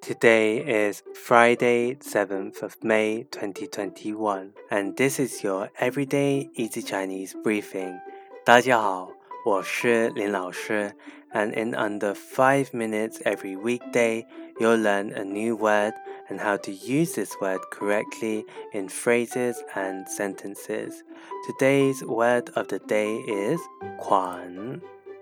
Today is Friday, 7th of May, 2021, and this is your Everyday Easy Chinese Briefing. 大家好，我是林老师, and in under 5 minutes every weekday, you'll learn a new word and how to use this word correctly in phrases and sentences. Today's word of the day is 款,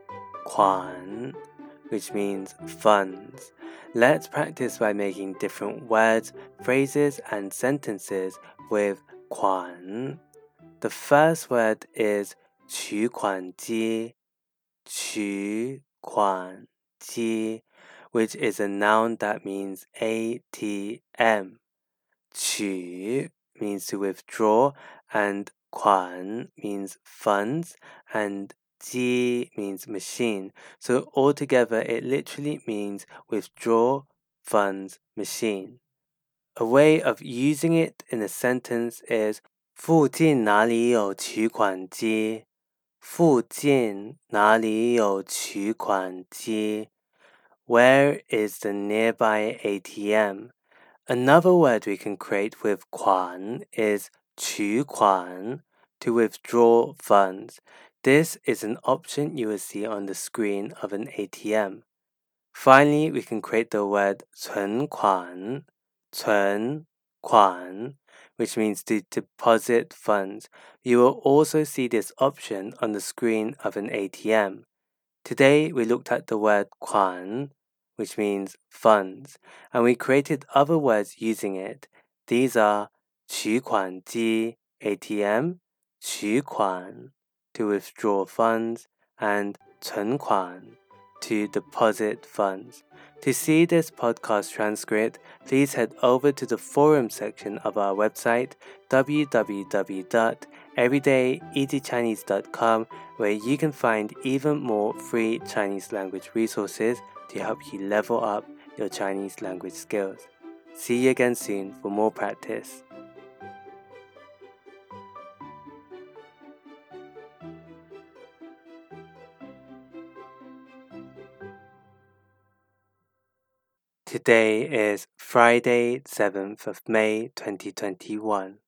which means funds. Let's practice by making different words, phrases, and sentences with 款. The first word is 取款机, 取款机, which is a noun that means ATM. 取 means to withdraw, and 款 means funds, and 机 means machine. So altogether, it literally means withdraw funds machine. A way of using it in a sentence is 附近哪里有取款机？附近哪里有取款机？ Where is the nearby ATM? Another word we can create with 款 is 取款, to withdraw funds. This is an option you will see on the screen of an ATM. Finally, we can create the word 存款, 存款, which means to deposit funds. You will also see this option on the screen of an ATM. Today, we looked at the word 款, which means funds, and we created other words using it. These are 取款机 ATM, 取款 to withdraw funds, and 存款 to deposit funds. To see this podcast transcript, please head over to the forum section of our website, www.everydayeasychinese.com, where you can find even more free Chinese language resources to help you level up your Chinese language skills. See you again soon for more practice. Today is Friday, 7th of May, 2021.